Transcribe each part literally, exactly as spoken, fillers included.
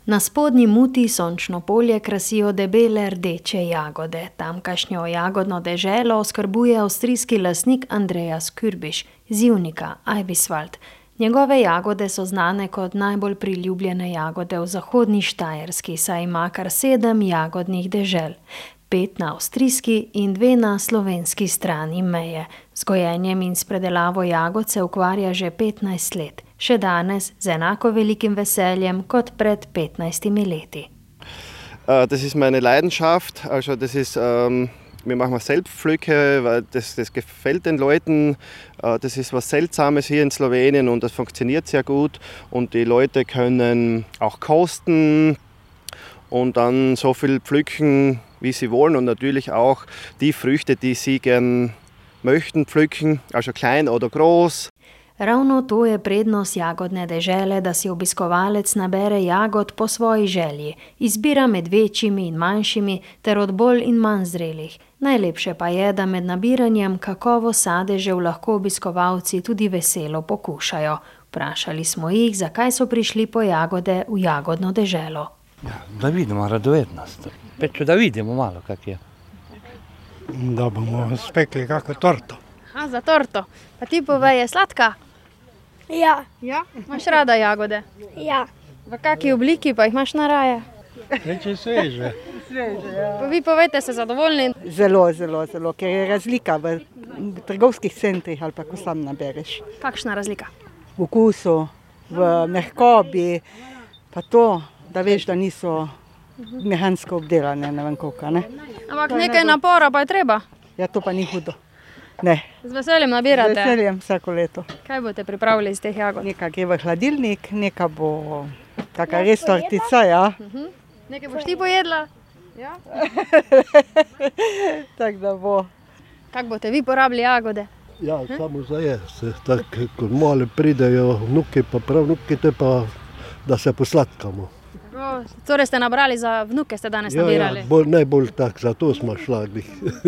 Na spodnji Muti sončno polje krasijo debele rdeče jagode. Tamkajšnjo jagodno deželo oskrbuje avstrijski lastnik Andreas Kürbisch z Ivnika, Eibiswald. Njegove jagode so znane kot najbolj priljubljene jagode v zahodni Štajerski, saj ima kar sedem jagodnih dežel. Pet na avstrijski in dve na slovenski strani meje. Z gojenjem in s predelavo jagod se ukvarja že petnajst let. Še danes z enako velikim veseljem kot pred petnajstimi leti. Uh, das ist meine Leidenschaft. Also das ist, um, wir machen Selbstpflücke, weil das, das gefällt den Leuten. Uh, das ist was Seltsames hier in Slowenien und das funktioniert sehr gut. Und die Leute können auch kosten und dann so viel pflücken, wie sie wollen. Und natürlich auch die Früchte, die sie gern möchten pflücken, also klein oder groß. Ravno to je prednost jagodne dežele, da si obiskovalec nabere jagod po svoji želji. Izbira med večjimi in manjšimi ter od bolj in manj zrelih. Najlepše pa je, da med nabiranjem kakovost sadežev lahko obiskovalci tudi veselo pokušajo. Vprašali smo jih, zakaj so prišli po jagode v jagodno deželo. Ja, da vidimo radovednost. Peče, da vidimo malo, kak je. Da bomo spekli kako torto. A, za torto. Pa ti povej, je sladka? Ja. Ja? Imaš rada jagode? Ja. V kaki obliki pa jih imaš naraje? Reče sveže. Sveže, ja. Pa vi povejte, ste zadovoljni? Zelo, zelo, zelo, ker je razlika v trgovskih centrih ali pa ko sam nabereš. Kakšna razlika? V okusu, v mehkobi, pa to, da veš, da niso mehansko obdelane, ne vem koliko, ne. Ampak nekaj napora pa je treba? Ja, to pa ni hudo. Ne. Z veseljem nabirate? Z veseljem vsako leto. Kaj boste pripravili iz teh jagod? Nekaj gre v hladilnik, nekaj bo taka res tortica, ja. Uh-huh. Nekaj boš ti pojedla? Ja. Tako da bo. Kako boste vi porabili jagode? Ja, hm? Samo za jesti. Tako, ko male pridejo vnuki, pa prav vnuki, te pa, da se posladkamo. O, torej ste nabrali za vnuke, ste danes ja, nabirali? Ja, bolj, najbolj tako, zato smo šlagli.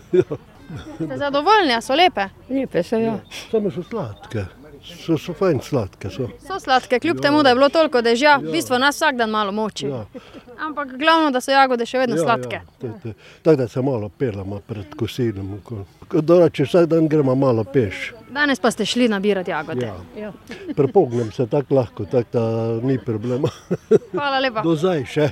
Ste zadovoljni, a so lepe? Lepe so, ja. Samo so sladke. So, so fajn sladke. So, so sladke, kljub ja. temu, da je bilo toliko dežja, ja. V bistvu nas vsak dan malo moči. Ja. Ampak glavno, da so jagode še vedno ja, sladke. Ja. Tako da se malo pelamo pred kosilom. Dorače, vsak dan gremo malo peš. Danes pa ste šli nabirati jagode. Ja. Ja. Prepognem se tako lahko, tako da ni problema. Hvala lepa. Do zdaj še.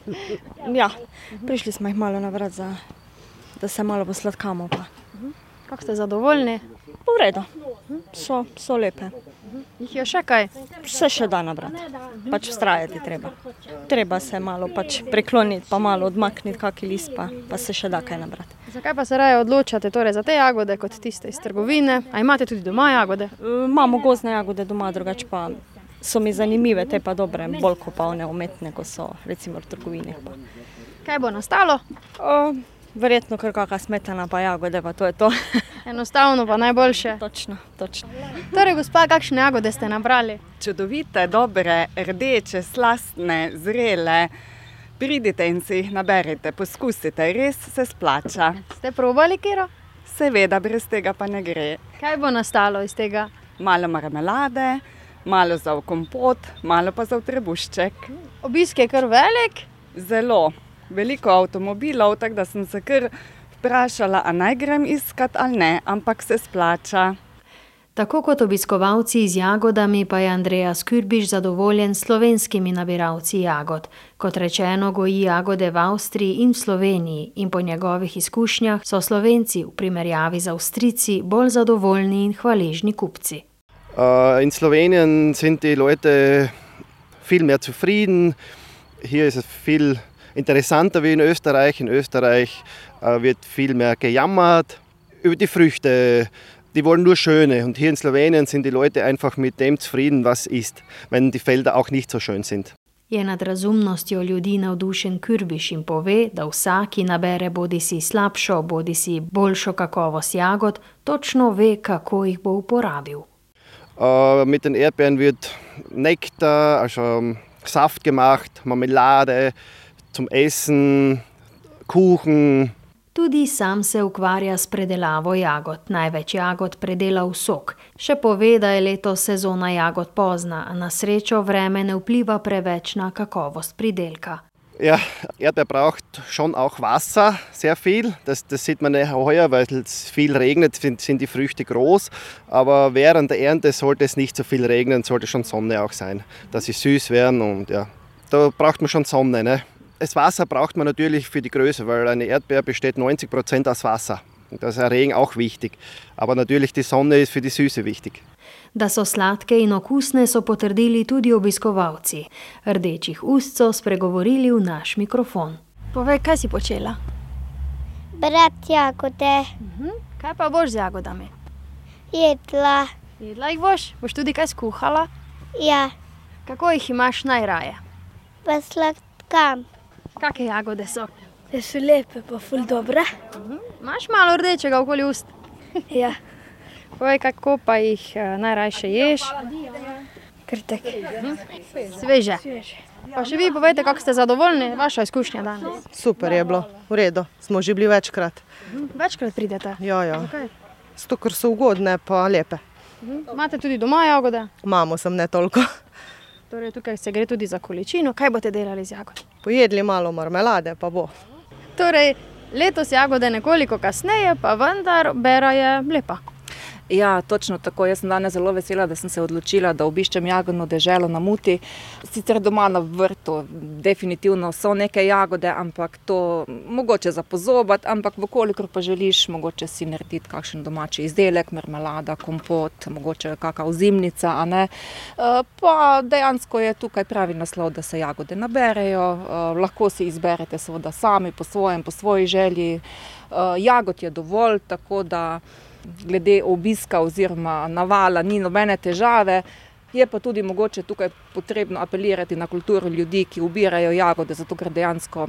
Ja, prišli smo jih malo nabrati, za, da se malo posladkamo pa. Kako ste zadovoljni? V redu, so, so lepe. Jih je še kaj? Se še da nabrati, pač vztrajati treba. Treba se malo pač prekloniti, pa malo odmakniti kaki list, pa, pa se še da kaj nabrati. Zakaj pa se raje odločate torej za te jagode kot tiste iz trgovine? A imate tudi doma jagode? E, imamo gozdne jagode doma, drugače pa so mi zanimive, te pa dobre, bolj kot pa one umetne, ko so recimo v trgovini. Pa. Kaj bo nastalo? O, verjetno kar kakšna smetana pa jagode, pa to je to. Enostavno pa najboljše. Točno, točno. Torej, gospa, kakšne jagode ste nabrali? Čudovite, dobre, rdeče, slastne, zrele. Pridite in si jih naberite, poskusite, res se splača. Ste probali kero? Seveda, brez tega pa ne gre. Kaj bo nastalo iz tega? Malo marmelade, malo za v kompot, malo pa za v trebušček. Obisk je kar velik? Zelo. Veliko avtomobilov, tako da sem se kar vprašala, a naj grem iskat ali ne, ampak se splača. Tako kot obiskovalci z jagodami pa je Andreas Kürbisch zadovoljen s slovenskimi nabiralci jagod. Kot rečeno, goji jagode v Avstriji in v Sloveniji in po njegovih izkušnjah so Slovenci v primerjavi z Avstrijci bolj zadovoljni in hvaležni kupci. Uh, in Slowenien sind die Leute viel mehr zufrieden. Hier ist es viel interessanter wie in Österreich. In Österreich äh, wird viel mehr gejammert über die Früchte. Die wollen nur schöne. Und hier in Slowenien sind die Leute einfach mit dem zufrieden, was ist, wenn die Felder auch nicht so schön sind. Je nad razumnostjo ljudi navdušen Kürbisch in pove, da vsak, ki nabere bodisi slabšo, bodisi boljšo kakovost jagod, točno ve, kako jih bo uporabil. Uh, mit den Erdbeeren wird Nektar, also Saft gemacht, Marmelade, zum Essen, Kuchen, Tudi sam se ukvarja s predelavo jagod. Največ jagod predela v sok. Še pove, da je letos sezona jagod pozna, a na srečo vreme ne vpliva preveč na kakovost pridelka. Ja, Erdbeer braucht schon auch Wasser, sehr viel. Das, das sieht man ja heuer, weil es viel regnet, sind die Früchte groß. Aber während der Ernte sollte es nicht so viel regnen, sollte schon Sonne auch sein, dass sie süß werden. Und ja, da braucht man schon Sonne. Ne? Das Wasser braucht man natürlich für die Größe, weil eine Erdbeer besteht neunzig Prozent aus Wasser. Da ist der Regen auch wichtig. Aber natürlich die Sonne ist für die Süße wichtig. Da so sladke in okusne, so potrdili tudi obiskovalci. Rdečih ust so spregovorili v naš mikrofon. Povej, kaj si počela? Brat jagode. Uh-huh. Kaj pa boš z jagodami? Jedla. Jedla jih boš? Boš tudi kaj skuhala? Ja. Kako jih imaš najraje? Pa sladkam. Kakšne jagode so? Da so lepe, pa ful dobre. Uh-huh. Imaš malo rdečega okoli ust? Ja. Povej, kako pa jih uh, najrajše ješ? Krtek. Uh-huh. Sveže. Sveže. Pa še vi povejte, kako ste zadovoljni, vaša izkušnja danes? Super je bilo, v redu, smo že bili večkrat. Uh-huh. Večkrat pridete? Ja, ja. Zakaj? Zato, ker so ugodne pa lepe. Uh-huh. Imate tudi doma jagode? Imamo, sem ne toliko. Torej, tukaj se gre tudi za količino. Kaj boste delali z jagod? Pojedli malo marmelade, pa bo. Torej, letos jagode nekoliko kasneje, pa vendar bera je lepa. Ja, točno tako. Jaz sem danes zelo vesela, da sem se odločila, da obiščem jagodno deželo na Muti. Sicer doma na vrtu definitivno so neke jagode, ampak to mogoče za pozobati, ampak vkolikor pa želiš, mogoče si narediti kakšen domači izdelek, marmelada, kompot, mogoče kakšna ozimnica, a ne. Pa dejansko je tukaj pravi naslov, da se jagode naberejo, lahko si izberete seveda sami po svojem, po svoji želji. Jagod je dovolj, tako da glede obiska oziroma navala ni nobene težave. Je pa tudi mogoče tukaj potrebno apelirati na kulturo ljudi, ki ubirajo jagode, zato ker dejansko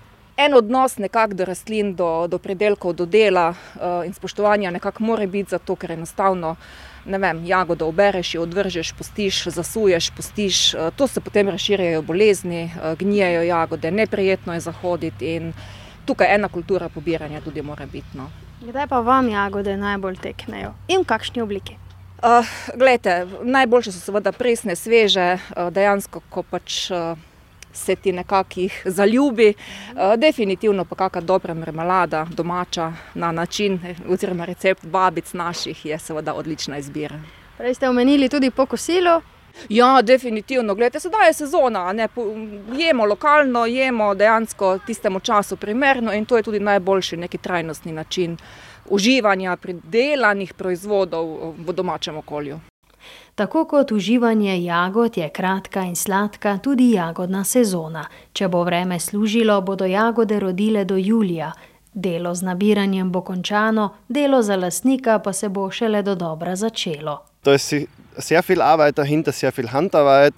en odnos nekako do rastlin, do, do predelkov, do dela uh, in spoštovanja nekako mora biti, zato ker enostavno, ne vem, jagodo obereš, jo odvržeš, pustiš, zasuješ, pustiš, uh, to se potem razširjajo bolezni, uh, gnijejo jagode, neprijetno je zahoditi in tukaj ena kultura pobiranja tudi mora biti. No. Kdaj pa vam jagode najbolj teknejo? In v kakšni obliki? Uh, glejte, najboljše so seveda presne, sveže, uh, dejansko, ko pač uh, se ti nekako jih zaljubi. Uh, definitivno pa kakšna dobra marmelada, domača, na način, oziroma recept babic naših je seveda odlična izbira. Prej ste omenili tudi po kosilu. Ja, definitivno. Glejte, sedaj je sezona, ne, jemo lokalno, jemo dejansko tistemu času primerno in to je tudi najboljši neki trajnostni način uživanja pridelanih proizvodov v domačem okolju. Tako kot uživanje jagod je kratka in sladka tudi jagodna sezona. Če bo vreme služilo, bodo jagode rodile do julija. Delo z nabiranjem bo končano, delo za lastnika pa se bo šele dodobra začelo. Da ist sehr viel Arbeit dahinter, sehr viel Handarbeit.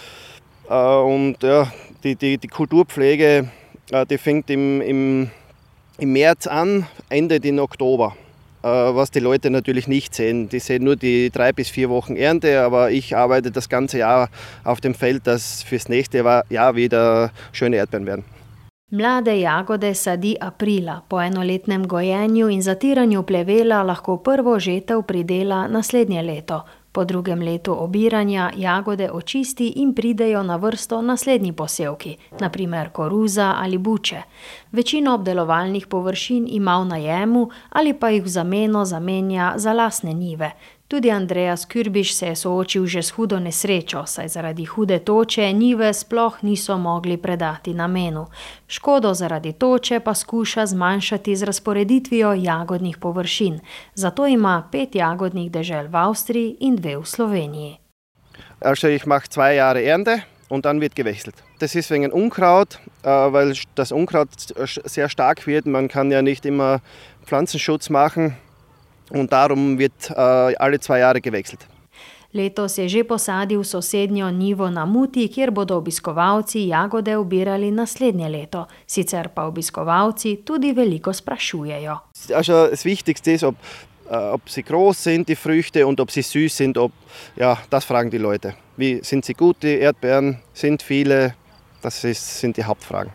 Und ja, die, die, die Kulturpflege, die fängt im, im, im März an, endet in Oktober. Was die Leute natürlich nicht sehen. Die sehen nur die drei bis vier Wochen Ernte, aber ich arbeite das ganze Jahr auf dem Feld, dass fürs nächste Jahr wieder schöne Erdbeeren werden. Mlade jagode sadi aprila. Po enoletnem gojenju in zatiranju plevela lahko prvo žetev pridela naslednje leto. Po drugem letu obiranja jagode očisti in pridejo na vrsto naslednji posevki, na primer koruza ali buče. Večino obdelovalnih površin ima v najemu ali pa jih v zameno zamenja za lastne njive. Tudi Andreas Kürbiš se je soočil že s hudo nesrečo, saj zaradi hude toče njive sploh niso mogli predati namenu. Škodo zaradi toče pa skuša zmanjšati z razporeditvijo jagodnih površin. Zato ima pet jagodnih dežel v Avstriji in dve v Sloveniji. Also ich mache zwei Jahre Ernte und dann wird gewechselt. Das ist wegen Unkraut, weil das Unkraut sehr stark wird. Man kann ja nicht immer Pflanzenschutz machen. Und darum wird uh, alle zwei Jahre gewechselt. Letos je že posadil sosednjo njivo na Muti, kjer bodo obiskovalci jagode ubirali naslednje leto. Sicer pa obiskovalci tudi veliko sprašujejo. Also das Wichtigste ist, ob, uh, ob sie groß sind, die Früchte, und ob sie süß sind. Ob, ja, das fragen die Leute. Wie, sind sie gut, die Erdbeeren? Sind viele? Das ist, sind die Hauptfragen.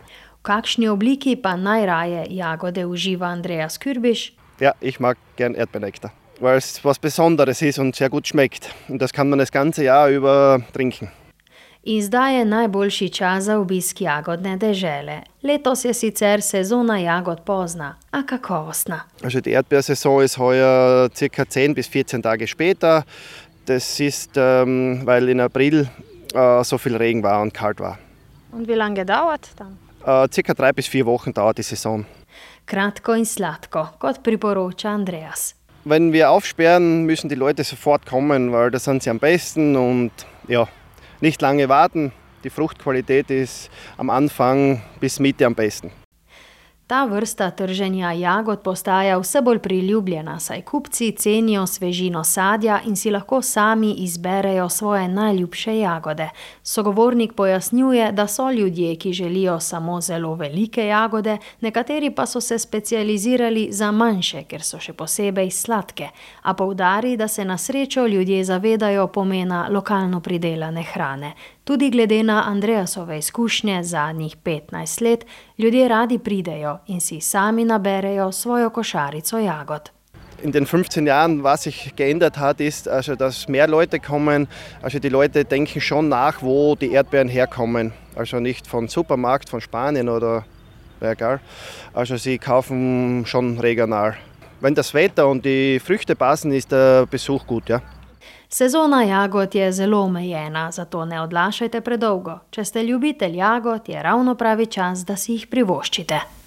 V kakšni obliki pa najraje jagode uživa Andreas Kürbisch? Ja, ich mag gern Erdbeernektar, weil es was Besonderes ist und sehr gut schmeckt. Und das kann man das ganze Jahr über trinken. In zdaj je najboljši čas za obisk jagodne dežele. Letos je sicer sezona jagod pozna, a kakovostna. Also die Erdbeersaison ist heuer circa zehn bis vierzehn Tage später. Das ist, ähm, weil in April äh, so viel Regen war und kalt war. Und wie lange dauert dann? Äh, circa drei bis vier Wochen dauert die Saison. Kratko in sladko, kot priporoča Andreas. Wenn wir aufsperren, müssen die Leute sofort kommen, weil da sind sie am besten und ja, nicht lange warten. Die Fruchtqualität ist am Anfang bis Mitte am besten. Ta vrsta trženja jagod postaja vse bolj priljubljena, saj kupci cenijo svežino sadja in si lahko sami izberejo svoje najljubše jagode. Sogovornik pojasnjuje, da so ljudje, ki želijo samo zelo velike jagode, nekateri pa so se specializirali za manjše, ker so še posebej sladke. A poudari, da se na srečo ljudje zavedajo pomena lokalno pridelane hrane. Tudi glede na Andreasove izkušnje zadnjih petnajst let, ljudje radi pridejo in si sami naberejo svojo košarico jagod. In den fünfzehn Jahren, was sich geändert hat, ist, also, dass mehr Leute kommen. Also die Leute denken schon nach, wo die Erdbeeren herkommen. Also nicht von Supermarkt, von Spanien oder egal. Also sie kaufen schon regional. Wenn das Wetter und die Früchte passen, ist der Besuch gut, ja. Sezona jagod je zelo omejena, zato ne odlašajte predolgo. Če ste ljubitelj jagod, je ravno pravi čas, da si jih privoščite.